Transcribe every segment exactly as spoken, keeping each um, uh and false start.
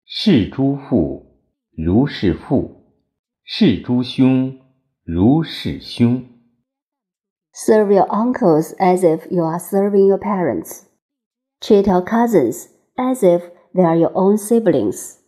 事诸父如事父，事诸兄如事兄。 Serve your uncles as if you are serving your parents. Treat your cousins as if they are your own siblings.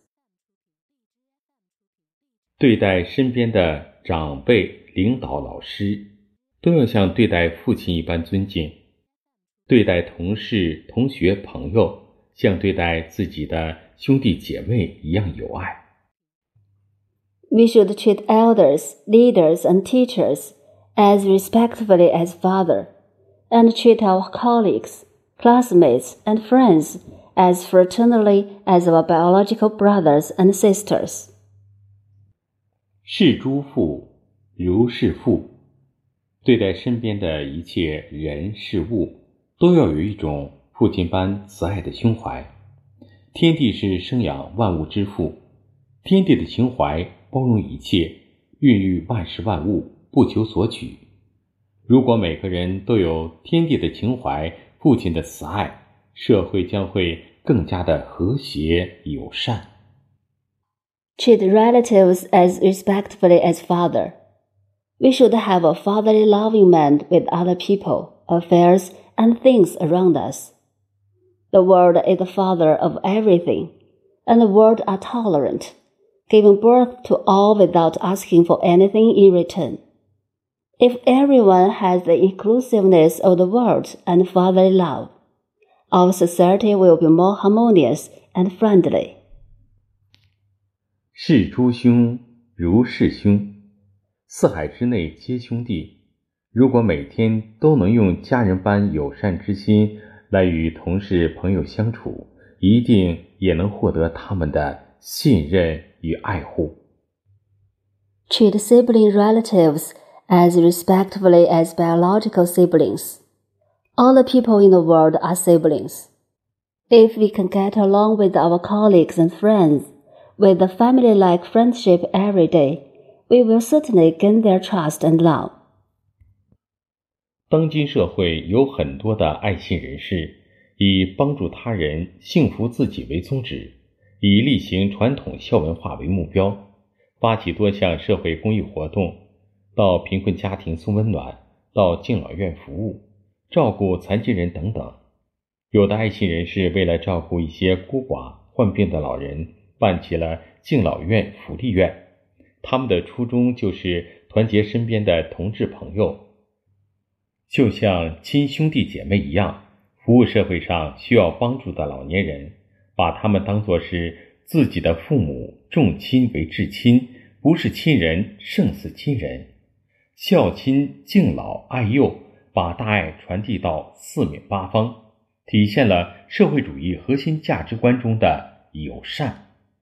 对待身边的长辈、领导、老师，都要像对待父亲一般尊敬；对待同事、同学、朋友，像对待自己的兄弟姐妹一样有爱。 We should treat elders, leaders, and teachers as respectfully as father, and treat our colleagues, classmates, and friends as fraternally as our biological brothers and sisters. 事诸父如事父，对待身边的一切人事物，都要有一种父亲般慈爱的胸怀。天地是生养万物之父，天地的情怀包容一切，孕育万事万物，不求索取。如果每个人都有天地的情怀，父亲的慈爱，社会将会更加的和谐友善。 Treat relatives as respectfully as father. We should have a fatherly loving mind with other people, affairs, and things around us. The world is the father of everything, and the world are tolerant, giving birth to all without asking for anything in return. If everyone has the inclusiveness of the world and fatherly love, our society will be more harmonious and friendly. 事诸兄如事兄，四海之内皆兄弟。如果每天都能用家人般友善之心来与同事朋友相处，一定也能获得他们的信任与爱护。 Treat sibling relatives as respectfully as biological siblings. All the people in the world are siblings. If we can get along with our colleagues and friends, with a family-like friendship every day, we will certainly gain their trust and love. 当今社会有很多的爱心人士，以帮助他人、幸福自己为宗旨，以力行传统孝文化为目标，发起多项社会公益活动，到贫困家庭送温暖，到敬老院服务，照顾残疾人等等。有的爱心人士为了照顾一些孤寡、患病的老人，办起了敬老院、福利院。他们的初衷就是团结身边的同志朋友，就像亲兄弟姐妹一样，服务社会上需要帮助的老年人，把他们当作是自己的父母，重亲为至亲，不是亲人胜似亲人。孝亲、敬老、爱幼，把大爱传递到四面八方，体现了社会主义核心价值观中的友善。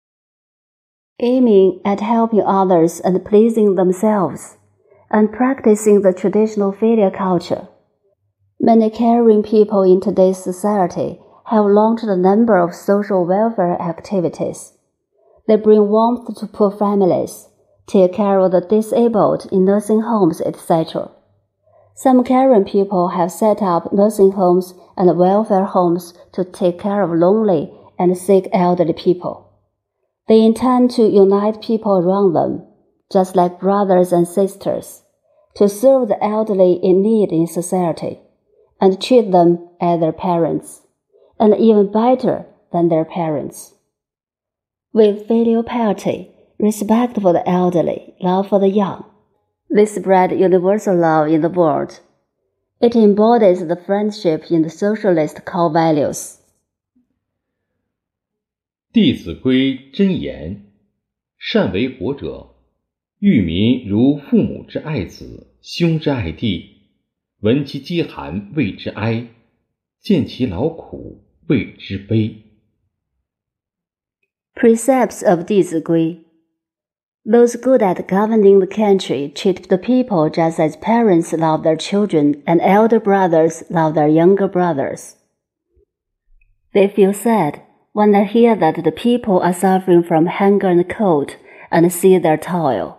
Aiming at helping others and pleasing themselves, and practicing the traditional filial culture. Many caring people in today's society have launched a number of social welfare activities. They bring warmth to poor families, take care of the disabled in nursing homes, et cetera. Some caring people have set up nursing homes and welfare homes to take care of lonely and sick elderly people. They intend to unite people around them, just like brothers and sisters, to serve the elderly in need in society, and treat them as their parents, and even better than their parents. With filial piety, respect for the elderly, love for the young, they spread universal love in the world. It embodies the friendship in the socialist core values. 弟子规真言：善为国者，育民如父母之爱子，兄之爱弟。闻其饥寒，谓之哀；见其劳苦，谓之悲。 Precepts of 弟子规. Those good at governing the country treat the people just as parents love their children and elder brothers love their younger brothers. They feel sad when they hear that the people are suffering from hunger and cold and see their toil.